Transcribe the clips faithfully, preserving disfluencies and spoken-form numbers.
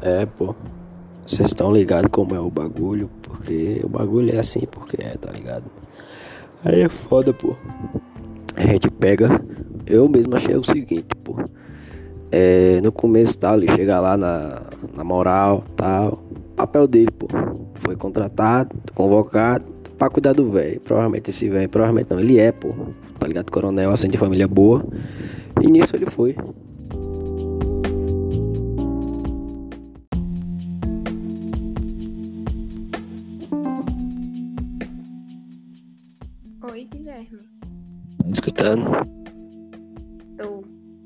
É, pô. Vocês estão ligados como é o bagulho? Porque o bagulho é assim, porque é, tá ligado? Aí é foda, pô. A gente pega. Eu mesmo achei o seguinte, pô. É, no começo tal, ele chega lá na, na moral, tal. Papel dele, pô. Foi contratado, convocado pra cuidar do velho. Provavelmente esse velho, provavelmente não, ele é, pô. Tá ligado? Coronel, assim, de família boa. E nisso ele foi. Oi, Guilherme. Escutando. Tô.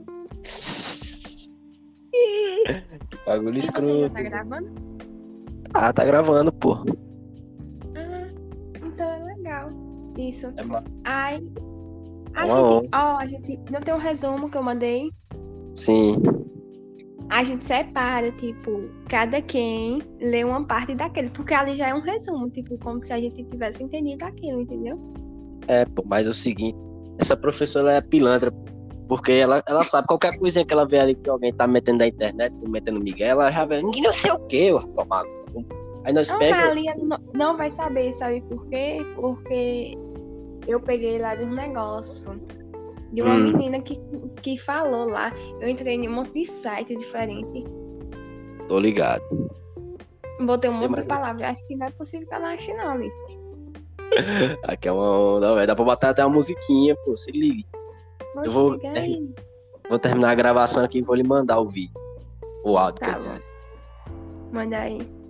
Que bagulho E você já tá escroto. gravando? Ah, tá gravando, pô. Ah, então é legal. Isso. É uma, Ai, é a uma gente, honra. ó, a gente não tem um resumo que eu mandei. Sim. A gente separa, tipo, cada quem lê uma parte daquele, porque ali já é um resumo, tipo, como se a gente tivesse entendido aquilo, entendeu? É, pô, mas é o seguinte, essa professora é pilantra, pô, porque ela, ela sabe qualquer coisinha que ela vê ali que alguém tá metendo na internet, metendo Miguel, ela já vê, não sei o que, tomado. Aí nós Não, mas pega, ali ela não, não vai saber, sabe por quê? Porque eu peguei lá de um negócio, de uma hum, menina que, que falou lá. Eu entrei em um monte de site diferente, tô ligado. botei um É, monte de mas palavras. Acho que não é possível que ela ache, não, ali. aqui é uma onda, velho, dá pra botar até uma musiquinha, pô, se liga. Eu Oxe, vou, diga ter- aí. vou terminar a gravação aqui e vou lhe mandar o vídeo, o áudio, quer Tá bom, dizer. manda aí.